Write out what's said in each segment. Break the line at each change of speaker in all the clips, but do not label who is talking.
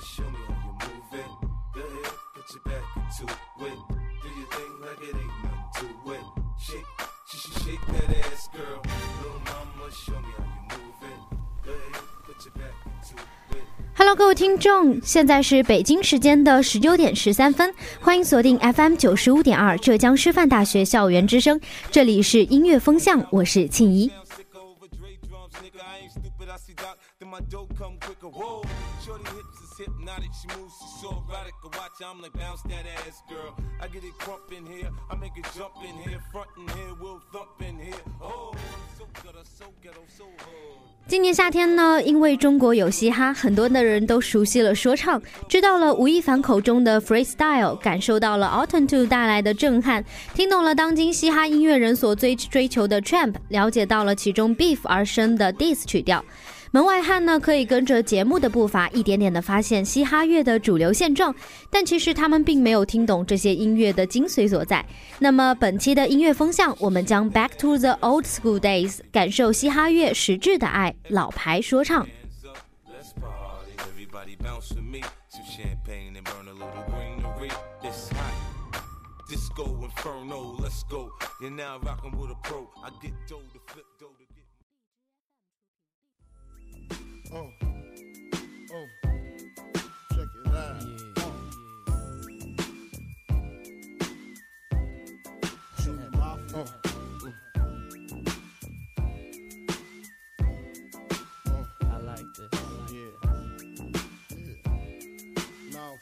show me how you move it. Go ahead, put your back into it. Do your thing like it ain't nothing to it. Shake that ass, girl. Little mama, show me how you move it. Go ahead, put your back into it.Hello，
各位听众，现在是北京时间的19点13分，欢迎锁定 FM 95.2浙江师范大学校园之声，这里是音乐风向，我是庆怡。今年夏天呢，因为中国有嘻哈，很多的人都熟悉了说唱，知道了吴亦凡口中的 freestyle， 感受到了 Autumn2 带来的震撼，听懂了当今嘻哈音乐人所追求的 trap， 了解到了其中 beef 而生的 diss 曲调。门外汉呢，可以跟着节目的步伐一点点的发现嘻哈乐的主流现状，但其实他们并没有听懂这些音乐的精髓所在。那么本期的音乐风向，我们将 back to the old school days， 感受嘻哈乐实质的爱，老牌说唱。
Check it out. Shoot my I like this. Yeah. Now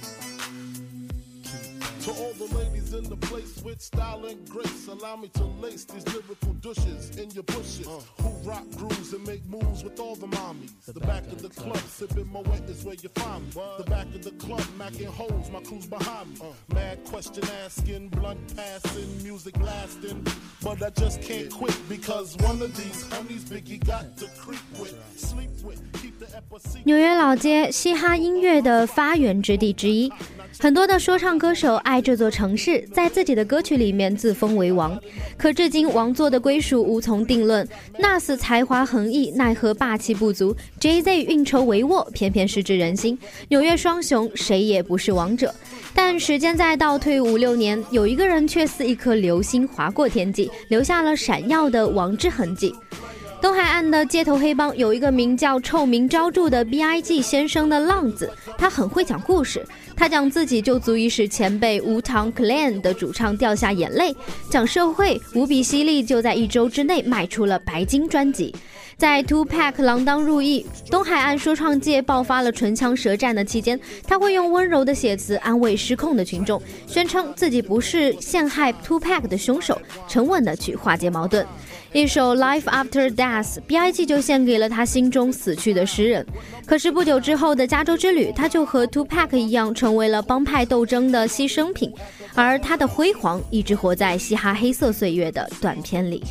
to all the ladies in the place with style and grace, allow me to lace these lyrical douches in your bushes who rock grooves and make moves with all the mommies. The back of the club, sipping Moet is where you find me. The back of the club, macking holes, my crew's behind me. Mad question asking, blunt passing, music lasting, but I just can't quit because one of these honeys Biggie got to creep with, sleep with, keep the epicenter.
纽约老街，嘻哈音乐的发源之地之一。很多的说唱歌手爱这座城市，在自己的歌曲里面自封为王，可至今王座的归属无从定论。Nas 才华横溢，奈何霸气不足 ，Jay-Z 运筹帷幄，偏偏失之人心。纽约双雄谁也不是王者，但时间再倒退5-6年，有一个人却似一颗流星划过天际，留下了闪耀的王之痕迹。东海岸的街头黑帮有一个名叫臭名昭著的 B.I.G 先生的浪子，他很会讲故事，他讲自己就足以使前辈Wu-Tang Clan 的主唱掉下眼泪，讲社会无比犀利，就在1周之内卖出了白金专辑。在 Tupac 锒铛入狱，东海岸说唱界爆发了唇枪舌战的期间，他会用温柔的写词安慰失控的群众，宣称自己不是陷害 Tupac 的凶手，沉稳的去化解矛盾。一首 Life After Death， B.I.G 就献给了他心中死去的诗人。可是不久之后的加州之旅，他就和 Tupac 一样成为了帮派斗争的牺牲品，而他的辉煌一直活在嘻哈黑色岁月的短片里。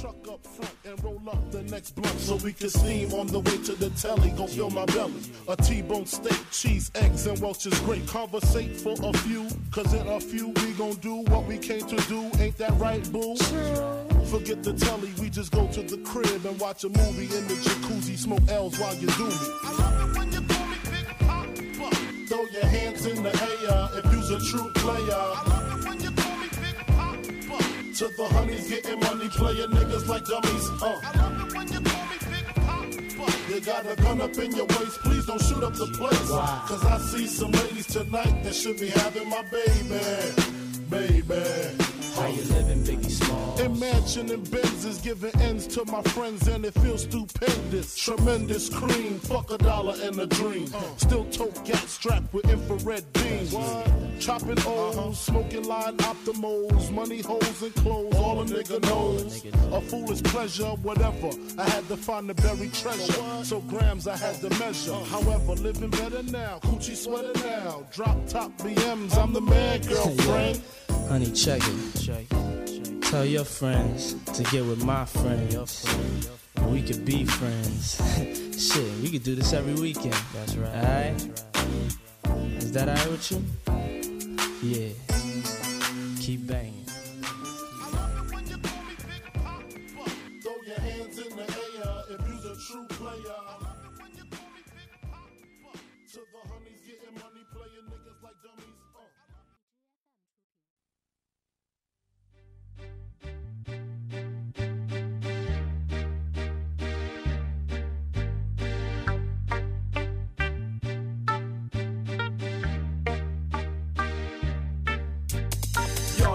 Roll up the next blunt so we can steam on the way to the telly. Gon' fill my belly. A T-bone steak, cheese, eggs, and Welch's grape. Conversate for a few, cause in a few we gon' do what we came to do. Ain't that right, boo? Forget the telly, we just go to the crib and watch a movie in the jacuzzi. Smoke L's while you do me. I love it when you call me Big Papa. Throw your hands in the air if you's a true player. I love it when you call me Big Papa. To the honeys getting money, playing niggas like dummies. I love it when you call me Big Papa. You got a gun up in your waist, please don't shoot up the place. Cause I see some ladies tonight that should be having my baby.
How you living, Biggie Small?
In mansion and Benzes, giving ends to my friends and it feels stupendous. Tremendous cream, fuck $1 and a dream. Still tote gat strapped with infrared beams. Chopping O's, smoking line optimals, money holes and clothes, all a nigga knows. A foolish pleasure, whatever. I had to find the buried treasure, so grams I had to measure. However, living better now, coochie sweater now. Drop top BMs, I'm the man, girlfriend.
Honey, check it. Tell your friends to get with my friends. We could be friends. Shit, we could do this every weekend. That's right. Alright? Is that alright with you? Yeah. Keep banging.
Throw your hands in the air if you's a true player. To the honeys getting money.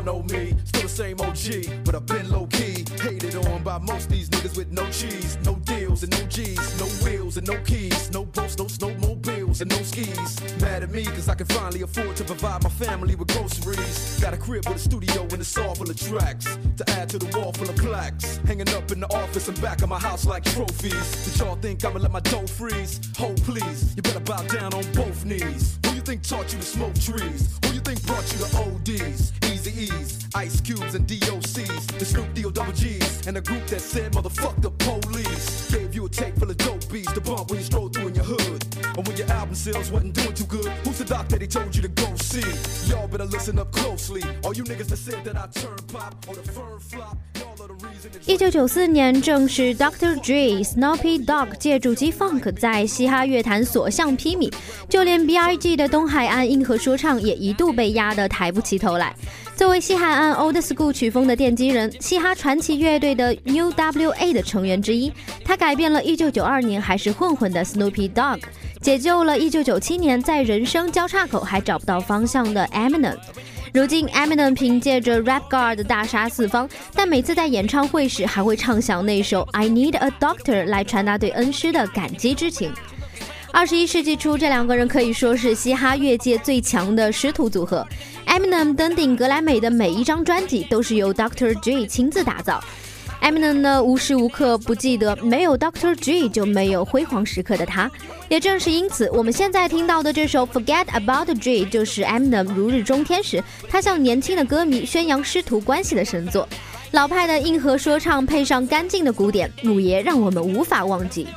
know me, still the same OG, but I've been low-key, hated on by most these niggas with no cheese, no deals and no G's, no wheels and no keys, no boats, no snowmobiles and no skis. Mad at me cause I can finally afford to provide my family with groceries. Got a crib with a studio and it's all full of tracks, to add to the wall full of plaques, hanging up in the office and back of my house like trophies. Did y'all think I'ma let my dough freeze? Hold please, you better bow down on both knees. Who you think taught you to smoke trees? Who you think brought you to ODs, Eazy-E's, Ice Cubes and DOC's, the Snoop D-O-double-G's, and a group that said motherfuck the police. Gave you a tape full of dope beats to bump when you stroll through in your hood, or when your album sales wasn't doing too good. Who's the doc that he told you to go see? Y'all better listen up closely. All you niggas that said that I turn pop or the firm flop, y'all are the reason that
1994年正是 Dr. Dre、Snoopy Dogg 借助 G-Funk 在嘻哈乐坛所向披靡，就连 B.I.G 的东海岸硬核说唱也一度被压得抬不起头来。作为西海岸 Old School 曲风的奠基人，嘻哈传奇乐队的 UWA 的成员之一，他改变了1992年还是混混的 Snoopy Dogg， 解救了1997年在人生交叉口还找不到方向的 Eminem。如今 Eminem 凭借着 Rap God 大杀四方，但每次在演唱会时还会唱响那首 I Need a Doctor 来传达对恩师的感激之情。21世纪初，这两个人可以说是嘻哈乐界最强的师徒组合。Eminem 登顶格莱美的每一张专辑都是由 Dr. Dre 亲自打造。Eminem 呢，无时无刻不记得没有 Dr. Dre 就没有辉煌时刻的他。也正是因此，我们现在听到的这首 Forget About Dre 就是 Eminem 如日中天时，他向年轻的歌迷宣扬师徒关系的神作。老派的硬核说唱配上干净的鼓点，母爷让我们无法忘记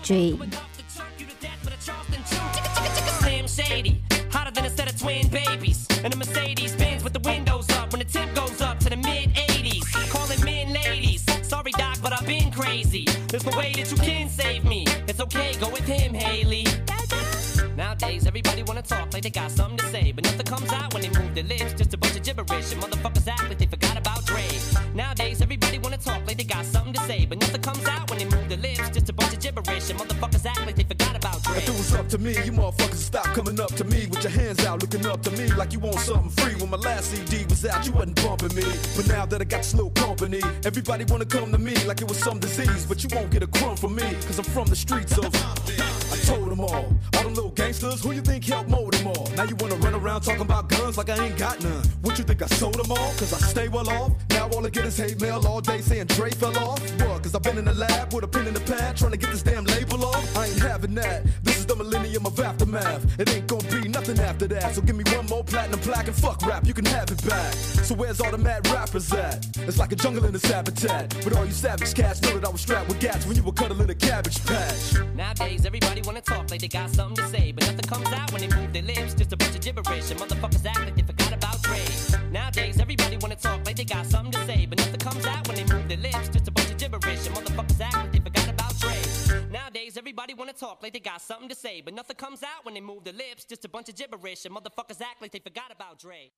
Dre。Hotter than a set of twin babies, and a Mercedes Benz with the windows up when the temp goes up to the mid-80s. Calling men ladies, sorry doc, but I've been crazy. There's no way that you can save me. It's okay, go with him, Haley. Nowadays, everybody wanna talk like they got something to say, but nothing comes out when they move their lips. Just a bunch of gibberish, and motherfuckers act like they forgot about Dre. Nowadays, everybody wanna talk like they got something to say, but nothing comes out when they move their lips. Just a bunch of gibberish, and motherfuckers act like they forgot about Dre.
If it was up to me, you motherfuckers stop coming up to me with your hands out, looking up to me like you want something free. When my last CD was out, you wasn't bumping me, but now that I got this little company, everybody wanna come to me like it was some disease, but you won't get a crumb from me, cause I'm from the streets of I told them all them little gangsters, who you think helped mold them all? Now you wanna run around talking about guns like I ain't got none. What you think I sold them all? Cause I stay well off. Now all I get is hate mail all day saying Dre fell off. What? Cause I've been in the lab with a pen in the pad trying to get this damn label off. I ain't having that. This is the millennium of aftermath. It ain't gonna be nothing after that. So give me one more platinum plaque and fuck rap, you can have it back. So where's all the mad rappers at? It's like a jungle in this habitat. But all you savage cats know that I was strapped with gats when you were cuddling a cabbage patch.
Nowadays, everybody wanna talk like they got something to say, but nothing comes out when they move their lips. Just a bunch of gibberish, and motherfuckers act like they forgot about Dre. Nowadays, everybody wanna talk like they got something to say, but nothing comes out when they move their lips. Just a bunch of gibberish, and motherfuckers act like they forgot about Dre. Nowadays, everybody wanna talk like they got something to say, but nothing comes out when they move their lips. Just a bunch of gibberish, and motherfuckers act like they forgot about Dre.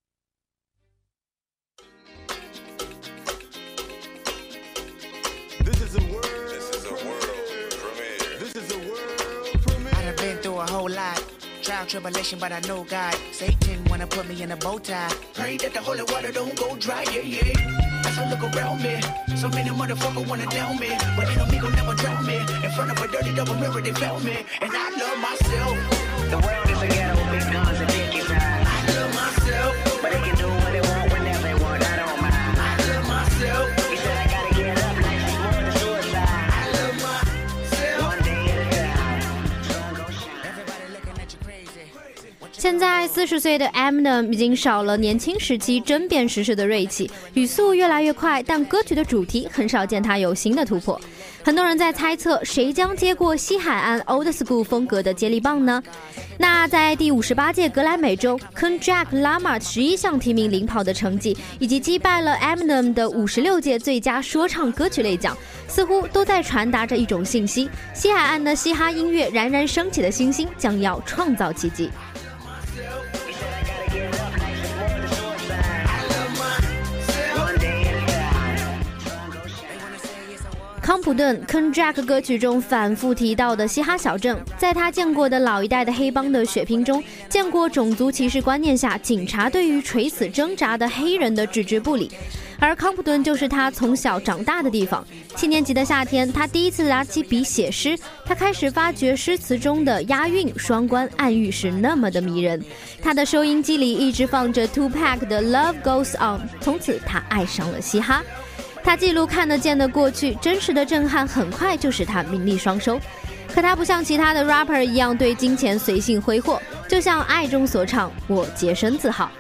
This is a world premiere. This is a world premiere.
I done been through a whole lot. Trial, tribulation, but I know God. Satan wanna put me in a bow tie. Pray that the holy water don't go dry, yeah, yeah. As I look around me, so many motherfuckers wanna down me, but they don't gon' never drown me. In front of a dirty double mirror, they found me, and I love myself.
The world is a ghetto with big guns and dick inside.
I love myself,
But they can do what they want whenever they want, I don't mind.
I love myself,
He said I gotta get up, life is more than suicide.
I love myself.
One day at a time, sun gon' shine.
Everybody looking at you crazy.
现在40岁的 Eminem 已经少了年轻时期争辩时事的锐气，语速越来越快，但歌曲的主题很少见他有新的突破。很多人在猜测谁将接过西海岸 Old School 风格的接力棒呢？那在第58届格莱美中 Kendrick Lamar 11项提名领跑的成绩，以及击败了 Eminem 的56届最佳说唱歌曲类奖，似乎都在传达着一种信息：西海岸的嘻哈音乐冉冉升起的星星将要创造奇迹。
He said I gotta get up, life is more than suicide. One day at a time, sun gon' shine.
They wanna say it's a war
康普顿 Konjac 歌曲中反复提到的嘻哈小镇，在他见过的老一代的黑帮的血拼中，见过种族歧视观念下警察对于垂死挣扎的黑人的置之不理。而康普顿就是他从小长大的地方。7年级的夏天，他第一次拿起笔写诗，他开始发觉诗词中的押韵、双关、暗喻是那么的迷人。他的收音机里一直放着 Tupac 的 Love Goes On， 从此他爱上了嘻哈。他记录看得见的过去，真实的震撼很快就使他名利双收。可他不像其他的 rapper 一样对金钱随性挥霍，就像爱中所唱，我洁身自好。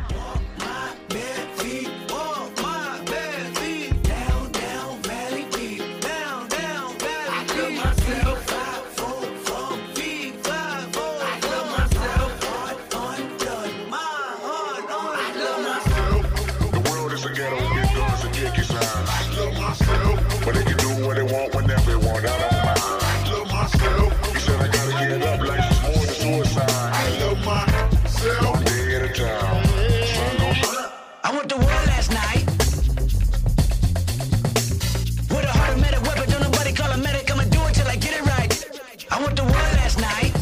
But they can do what they want whenever they want. I don't mind. I love myself. You said I gotta get up like it's more than suicide. I love myself. One day at a time.
I went to war last night with a heart of medic weapon. Don't nobody call a medic. I'ma do it till I get it right. I went to war last night.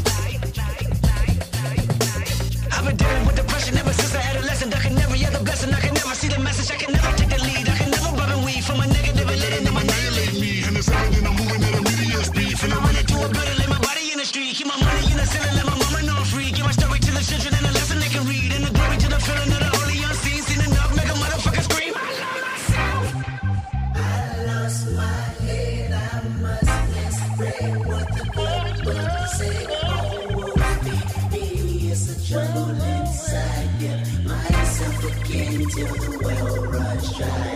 I've been dealing with depression ever since I adolescent. I can never get the blessing. I can never see the message. I can never take the lead. I can never rub and weave from a negative and let it in my annihilate me. And it's everything I'm moving at a medium speed. And I run into a building, lay my body in the street. Keep my money in the ceiling, let my mama know I'm free. Give my story to the children and a lesson they can read. And the glory to the feeling of the holy unseen. Seen enough, make a motherfucker scream. I love myself. I lost my head. I must explain what the Bible say. Me is a trouble inside. Get myself again till the well runs dry.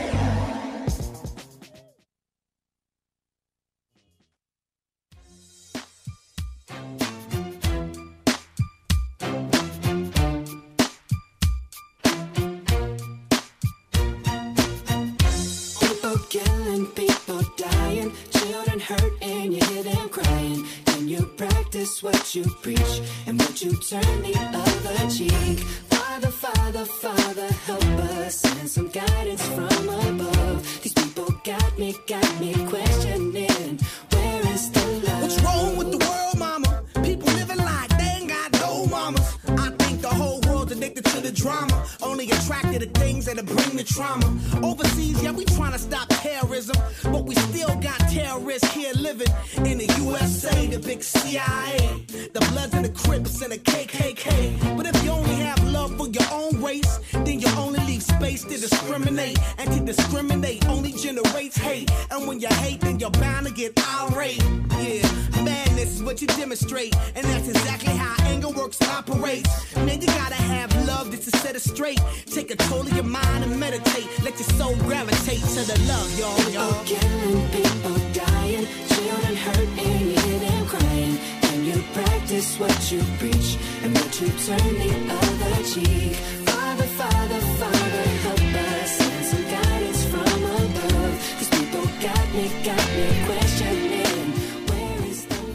Killing, people dying, children hurt and you hear them crying. Can you practice what you preach and would you turn the other cheek? Father, Father, Father, help us, send some guidance from above. These people got me questioning, where is the love?
What's wrong with the world, mama? People living like they ain't got no mamas. I think the whole world's addicted to the drama, only attracted to things that'll bring the trauma. Overseas, yeah, we trying to stop terrorism, but we still got terrorists here living in the USA, the big CIA, the Bloods and the Crips and the KKK. But if you only have love for your own race, then you only leave space to discriminate, and to discriminate only generates hate. And when you hate, then you're bound to get irate. Yeah, madness is what you demonstrate, and that's exactly how anger works and operates. Man, you gotta have love just to set it straight. Take control of your mind and meditate. Let your soul gravitate to the love, y'all.
People killing, people dying, children hurt and you hear them crying. Can you practice what you preach and would you turn the other cheek? Father, Father, Father, help us, send some guidance from above. These people got me questioning, where is the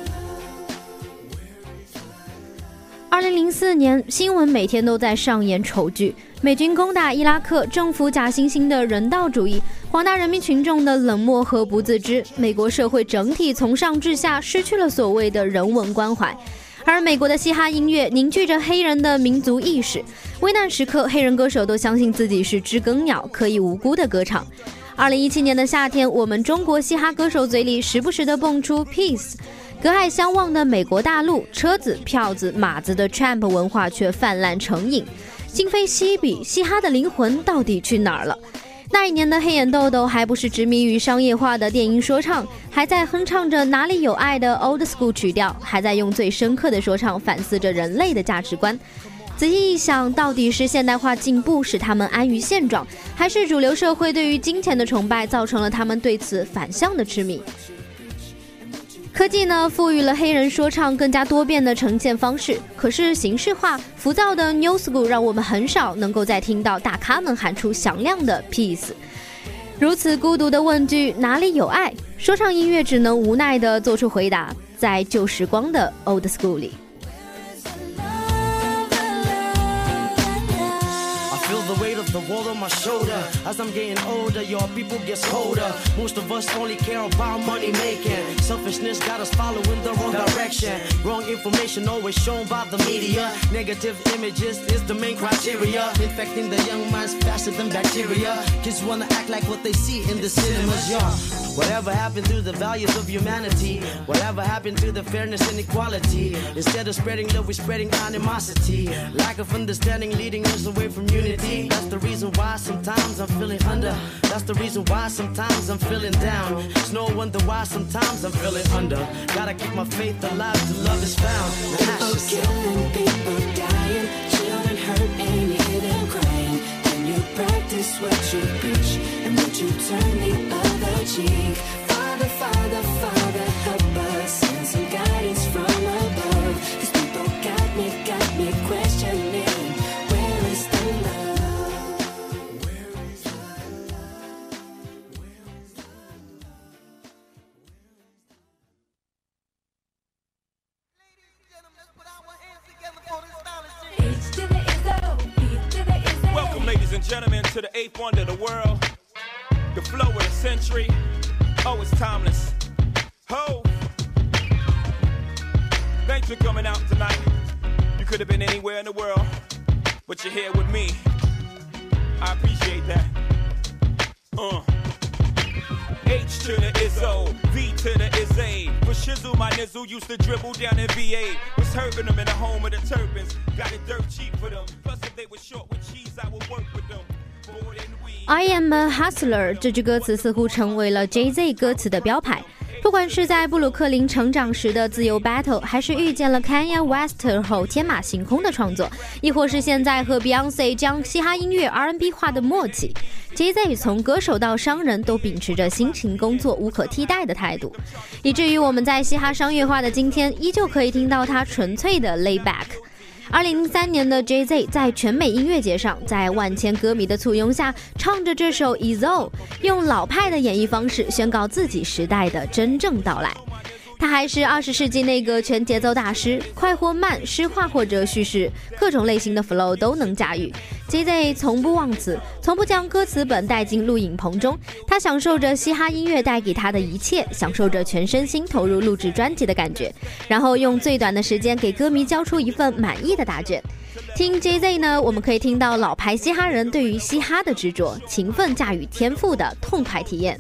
love?
2004年，新闻每天都在上演丑剧：美军攻打伊拉克，政府假惺惺的人道主义，广大人民群众的冷漠和不自知，美国社会整体从上至下失去了所谓的人文关怀。而美国的嘻哈音乐凝聚着黑人的民族意识，危难时刻，黑人歌手都相信自己是知更鸟，可以无辜的歌唱。2017年的夏天，我们中国嘻哈歌手嘴里时不时的蹦出 Peace， 隔海相望的美国大陆，车子、票子、马子的 Tramp 文化却泛滥成瘾，今非昔比，嘻哈的灵魂到底去哪儿了？那一年的黑眼豆豆还不是执迷于商业化的电音说唱，还在哼唱着哪里有爱的 old school 曲调，还在用最深刻的说唱反思着人类的价值观。仔细一想，到底是现代化进步使他们安于现状，还是主流社会对于金钱的崇拜造成了他们对此反向的痴迷？科技呢，赋予了黑人说唱更加多变的呈现方式，可是形式化、浮躁的 New School 让我们很少能够再听到大咖们喊出响亮的 Peace。如此孤独的问句，哪里有爱？说唱音乐只能无奈地做出回答，在旧时光的 Old School 里。
the world on my shoulder. As I'm getting older, your people gets colder. Most of us only care about money making. Selfishness got us following the wrong direction. Wrong information always shown by the media. Negative images is the main criteria. Infecting the young minds faster than bacteria. Kids wanna act like what they see in the cinemas, yeah. Whatever happened to the values of humanity? Whatever happened to the fairness and equality? Instead of spreading love, we're spreading animosity. Lack of understanding leading us away from unity. That's the reason why sometimes I'm feeling under. That's the reason why sometimes I'm feeling down. It's no wonder why sometimes I'm feeling under. Gotta keep my faith alive till love is found.
People killing, people dying, children hurt and you hear them crying. Can you practice what you preach and would you turn the other cheek? Father, Father, Father, help us. Send some guidance from above. These people got me questioning. Where is the love? Where is the love? Where is the love?
Ladies and gentlemen, let's put our hands together for this stylish shit.
Welcome, ladies and gentlemen, to the 8th wonder of the world, the flow of the century. Oh, it's timeless. Ho! Thanks for coming out tonight. You could have been anywhere in the world, but you're here with me. I appreciate that. H to the Izzo, V to the Izzy. For Shizzle, my nizzle used to dribble down in VA. Was hurting them in the home of the turbans. Got it dirt cheap for them. Plus, if they were short with cheese, I would work with them.
I am a hustler 这句歌词似乎成为了 Jay-Z 歌词的标牌。不管是在布鲁克林成长时的自由 battle， 还是遇见了 Kanye West 后天马行空的创作，亦或是现在和 Beyonce 将嘻哈音乐 R&B 化的默契， Jay-Z 从歌手到商人都秉持着辛勤工作无可替代的态度，以至于我们在嘻哈商业化的今天依旧可以听到他纯粹的 lay back。2003年的 Jay-Z 在全美音乐节上，在万千歌迷的簇拥下，唱着这首 Izzo， 用老派的演绎方式宣告自己时代的真正到来。他还是20世纪那个全节奏大师，快或慢，诗化或者叙事，各种类型的 flow 都能驾驭。Jay-Z 从不忘词，从不将歌词本带进录影棚中，他享受着嘻哈音乐带给他的一切，享受着全身心投入录制专辑的感觉，然后用最短的时间给歌迷交出一份满意的答卷。听 Jay-Z 呢，我们可以听到老牌嘻哈人对于嘻哈的执着、勤奋驾驭天赋的痛快体验。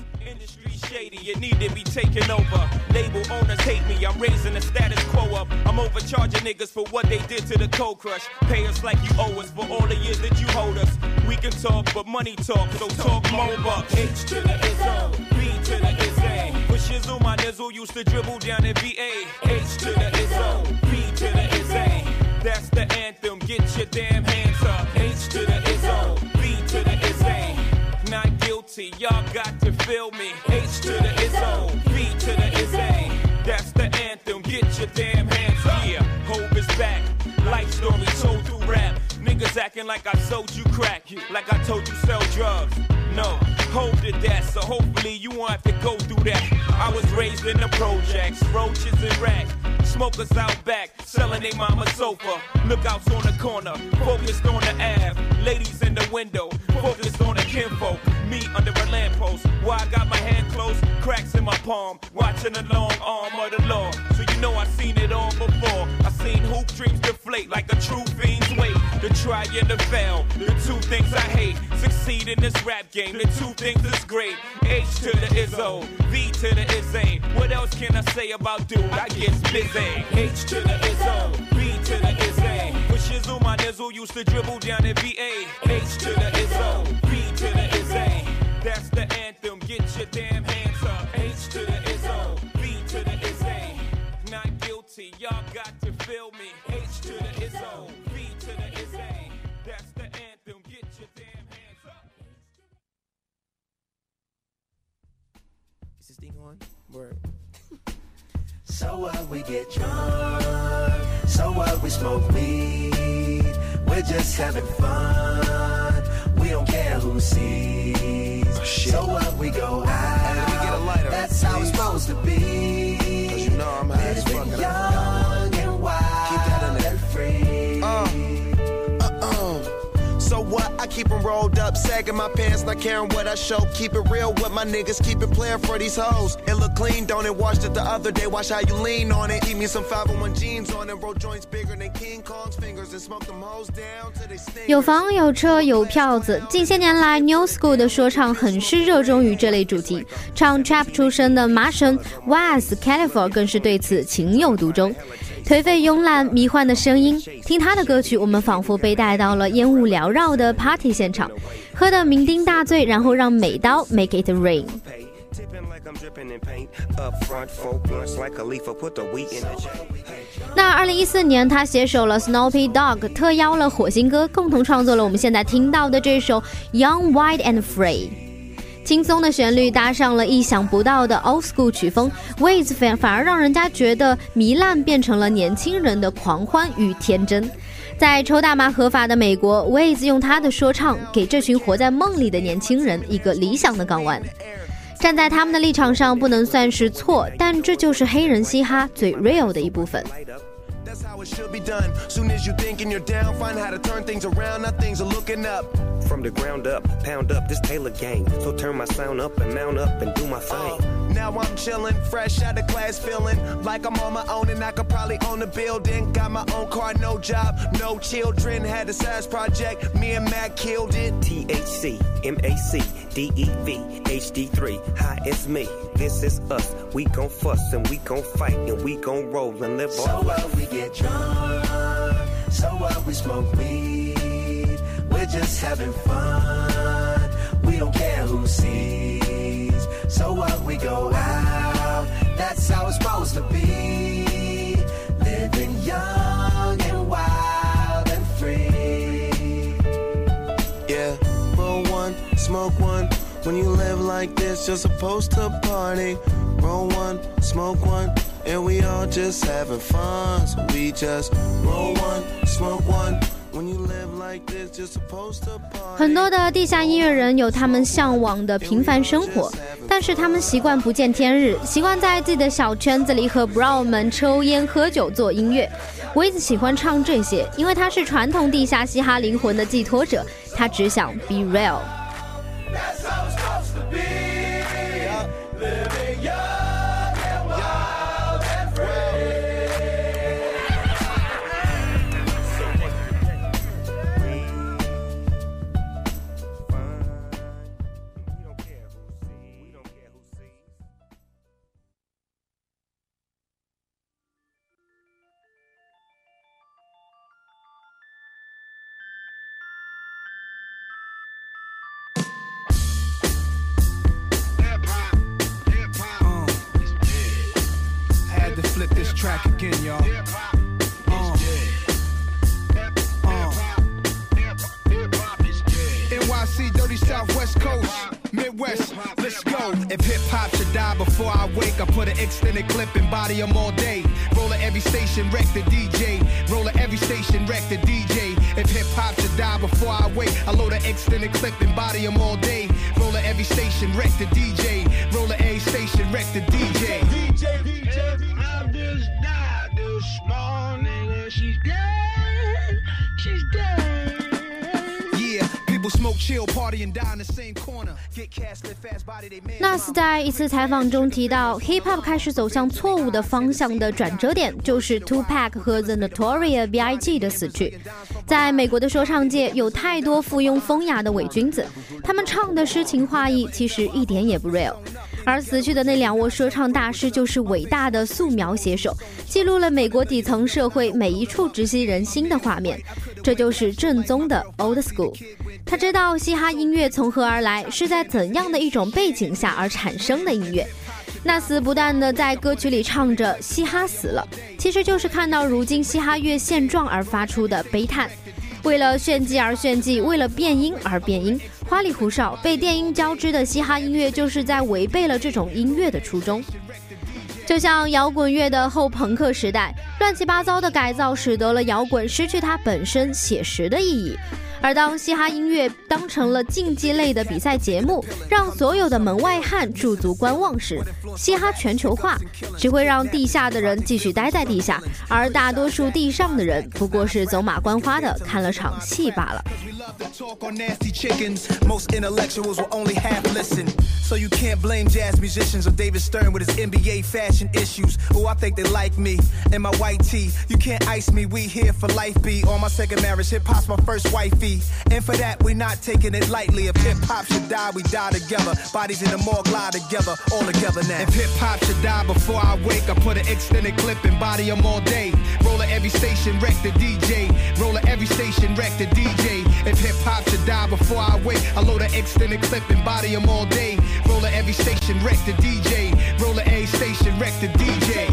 Shady, it need to be taken over. Label owners hate me, I'm raising the status quo up. I'm overcharging niggas for what they did to the Cold Crush. Pay us like you owe us for all the years that you hold us. We can talk, but money talk, so talk more bucks. H to the Izzo, B to the Izzy. For Shizzle, my nizzle used to dribble down in VA. H to the Izzo, B to the Izzy. That's the anthem, get your damn hands up. H to the Izzo, B to the Izzy. Not guilty, y'all got to feel me. H to the Izzo, B to the Izzy. That's the anthem, get your damn hands up. Yeah, Hope is back, life story told through rap. Niggas acting like I sold you crack, like I told you sell drugs. No, Hope did that, so hopefully you won't have to go through that. I was raised in the projects, roaches and rats. Smokers out back, selling they mama's sofa. Lookouts on the corner, focused on the Ave. Ladies in the window, focused on the kinfolk. Me under a lamppost, while I got my hand closed, cracks in my palm, watching the long arm of the law. So you know I seen it all before. I seen hoop dreams deflate like a true fiend's weight. The try and the fail, the two things I hate. Succeed in this rap game, the two things is great. H to the Izzo, V to the Izzy. What else can I say about dude? I get busy. H to the Izzo, B to the Izzy. For Shizzle, my nizzle used to dribble down in VA. H to the Izzo, B to the Izzy. That's the anthem, get your damn hands up. H to the Izzo, B to the Izzy. Not guilty, y'all got to feel me. H to the Izzo, B to the Izzy. That's the anthem, get your damn hands up.
Is this thing on? Word.
So what, we get drunk. So what, we smoke weed. We're just having fun. We don't care who sees. So what, we go out. That's how it's supposed to be.
Cause you know I'm high as fuck.
Young and wild.
Keep that in there.
And free.
So what? I keep them rolled up, sagging my pants, not caring what I show. Keep it real with my niggas, keep it playing for these hoes. It look clean, don't it? Washed it the other day, watch how you lean on it. Keep me some 501 jeans on it, roll joints bigger than King Kong's fingers and smoke them hoes down till they sting.
有房有车有票子，近些年来 New School 的说唱很是热衷于这类主题，唱 trap 出身的麻神 Waz Khalifa 更是对此情有独钟。颓废慵懒迷幻的声音，听他的歌曲，我们仿佛被带到了烟雾缭绕的 party 现场，喝得酩酊大醉，然后让美刀 make it rain。那2014年他携手了 Snoopy Dogg， 特邀了火星哥，共同创作了我们现在听到的这首 Young Wild and Free。轻松的旋律搭上了意想不到的 old school 曲风， Wiz 反而让人家觉得糜烂变成了年轻人的狂欢与天真。在抽大麻合法的美国， Wiz 用他的说唱给这群活在梦里的年轻人一个理想的港湾。站在他们的立场上不能算是错，但这就是黑人嘻哈最 real 的一部分。
That's how it should be done. Soon as you thinking you're down, find how to turn things around. Now things are looking up.
From the ground up, pound up this Taylor gang. So turn my sound up and mount up and do my thing.
Now I'm chillin', fresh out of class, feeling like I'm on my own and I could probably own a building. Got my own car, no job, no children. Had a size project, me and Mac killed it.
THC, MAC, DEV, HD3. Hi, it's me. This is us. We gon' fuss and we gon' fight and we gon' roll and live
so
our life.
So what, we get drunk. So what, we smoke weed. We're just having fun. We don't care who sees. So what, we go out. That's how it's supposed to be. Living young and wild and free.
Yeah, roll one, smoke one. When you live like this, you're supposed to party. Roll one, smoke one, and we all just having fun. So we just roll one, smoke one. When you live like this, you're supposed to party.
很多的地下音乐人有他们向往的平凡生活，但是他们习惯不见天日，习惯在自己的小圈子里和 bro 们抽烟喝酒做音乐。Wiz 喜欢唱这些，因为他是传统地下嘻哈灵魂的寄托者，他只想 be real。That's how it's supposed to be. Living young and wild and free.
，flip this track again, y'all. NYC, dirty Southwest Coast, Midwest, let's go. If hip-hop should die before I wake, I put an extended clip and body them all day. Roll at every station, wreck the DJ. Roll at every station, wreck the DJ. If hip-hop should die before I wake, I load an extended clip and body them all day. Roll at every station, wreck the DJ. Roll at every station, wreck the DJ.
I just died this morning and she's dead. She's dead.
Smoke, chill, party and die in the same corner. Get cast, live fast, body they man.
纳斯在一次采访中提到 ，hip hop 开始走向错误的方向的转折点，就是 Tupac 和 The Notorious B.I.G. 的死去。在美国的说唱界，有太多附庸风雅的伪君子，他们唱的诗情画意，其实一点也不 real。而死去的那两位说唱大师就是伟大的素描写手，记录了美国底层社会每一处直击人心的画面，这就是正宗的 old school。他知道嘻哈音乐从何而来，是在怎样的一种背景下而产生的音乐。纳斯不断地在歌曲里唱着嘻哈死了，其实就是看到如今嘻哈乐现状而发出的悲叹。为了炫技而炫技，为了变音而变音，花里胡哨被电音交织的嘻哈音乐就是在违背了这种音乐的初衷。就像摇滚乐的后朋克时代，乱七八糟的改造使得了摇滚失去它本身写实的意义。而当嘻哈音乐当成了竞技类的比赛节目，让所有的门外汉驻足观望时，嘻哈全球化只会让地下的人继续待在地下，而大多数地上的人不过是走马观花的看了场戏罢了。
Talk on nasty chickens. Most intellectuals will only half listen. So you can't blame jazz musicians or David Stern with his NBA fashion issues. Oh, I think they like me and my white tee. You can't ice me, we here for life B. On my second marriage, hip-hop's my first wifey. And for that, we not taking it lightly. If hip-hop should die, we die together. Bodies in the morgue lie together, all together now. If hip-hop should die before I wake, I put an extended clip and body them all day. Roller every station, wreck the DJ. Roller every station, wreck the DJ. If hip-hop should die before I wake, I load an extended clip and body them all day. Roller every station, wreck the DJ. Roller every station, wreck the DJ.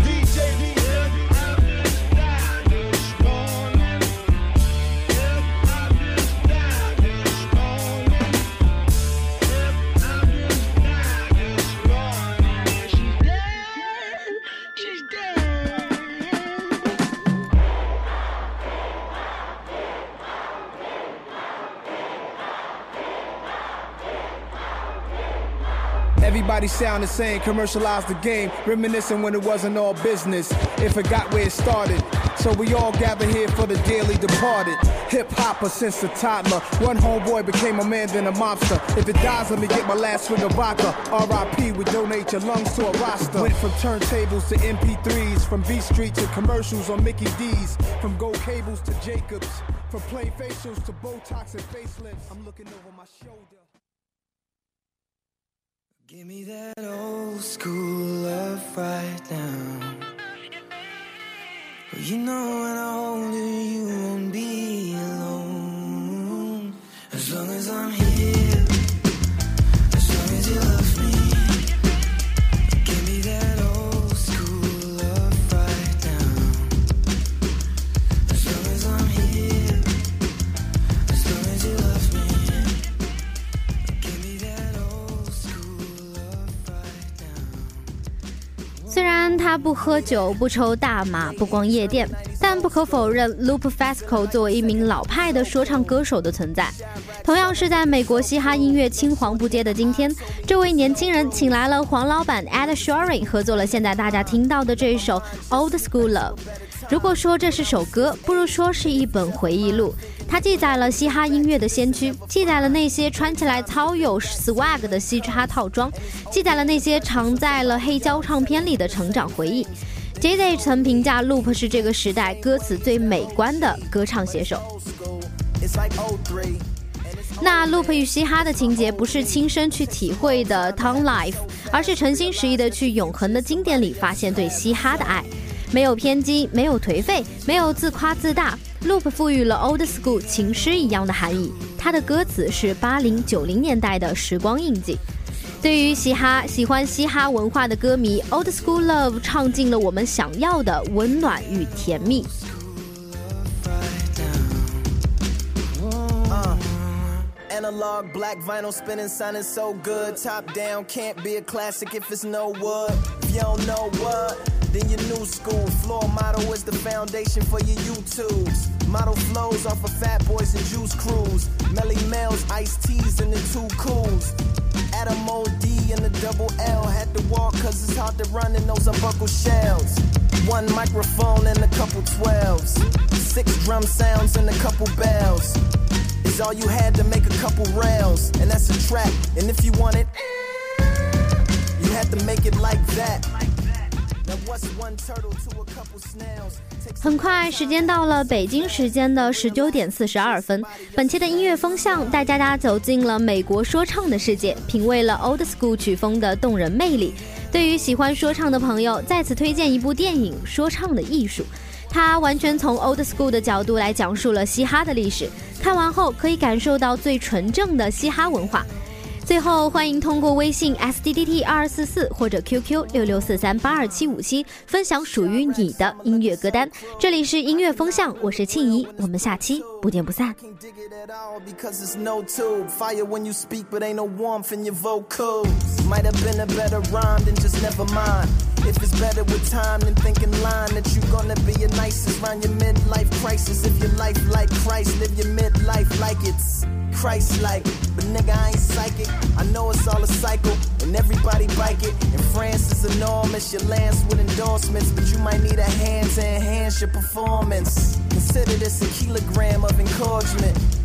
Everybody sound the same, commercialize the game, reminiscing when it wasn't all business. It forgot where it started. So we all gather here for the dearly departed. Hip-hopper since a toddler. One homeboy became a man, then a mobster. If it dies, let me get my last swig of vodka. R.I.P. we donate your lungs to a roster. Went from turntables to MP3s, from B Street to commercials on Mickey D's, from gold cables to Jacobs, from plain facials to Botox and facelifts. I'm looking over my shoulder.
Give me that old school love right now. You know when I hold you, you won't be alone. As long as I'm here, as long as you love me. Give me that old school love right now. As long as I'm here, as long as you love me. Give me that old school love right now.
虽然他不喝酒、不抽大麻、不逛夜店，但不可否认 Lupe Fiasco 作为一名老派的说唱歌手的存在。同样是在美国嘻哈音乐青黄不接的今天，这位年轻人请来了黄老板 Ed Sheeran 合作了现在大家听到的这首 Old School Love。如果说这是首歌，不如说是一本回忆录。它记载了嘻哈音乐的先驱，记载了那些穿起来超有 swag 的嘻哈套装，记载了那些藏在了黑胶唱片里的成长回忆。Jay-Z 曾评价 Lupe 是这个时代歌词最美观的歌唱写手。那 Lupe 与嘻哈的情节不是亲身去体会的 Town Life， 而是诚心实意的去永恒的经典里发现对嘻哈的爱，没有偏激，没有颓废，没有自夸自大。Lupe 赋予了 Old School 情诗一样的含义，他的歌词是80、90年代的时光印记。对于喜欢嘻哈文化的歌迷， Old School Love 唱尽了我们想要的温暖与甜蜜。
Analog black vinyl spinning, sounding so good. Top down, can't be a classic if it's no wood. If you don't know what, then your new school. Floor model is the foundation for your YouTubes. Model flows off of Fat Boys and Juice Crews. Melly Mel's, Ice T's, and the Two Cools. Adam O.D. and the double L. Had to walk cause it's hard to run in those unbuckled shells. One microphone and a couple 12s. 6 drum sounds and a couple bells. Is all you had to make a couple rails. And that's a track. And if you want it, you had to make it like that. Now what's one turtle to a couple snails?
很快时间到了北京时间的19点42分，本期的音乐风向带大家走进了美国说唱的世界，品味了 Old School 曲风的动人魅力。对于喜欢说唱的朋友，在此推荐一部电影《说唱的艺术》，它完全从 Old School 的角度来讲述了嘻哈的历史，看完后可以感受到最纯正的嘻哈文化。最后欢迎通过微信 SDDT2244 或者 QQ 66438277分享属于你的音乐歌单。这里是音乐风向，我是庆怡，我们下期不见不散。
Because it's no tube. Fire when you speak, but ain't no warmth in your vocals. Might have been a better rhyme than just never mind.
If it's better with time, then think in line that you're gonna be your nicest round your midlife crisis. If your life like Christ, live your midlife like it's Christ-like. But nigga, I ain't psychic. I know it's all a cycle, and everybody bike it. And France is enormous, your lands with endorsements, but you might need a hand to enhance your performance. Consider this a kilogram of encouragement.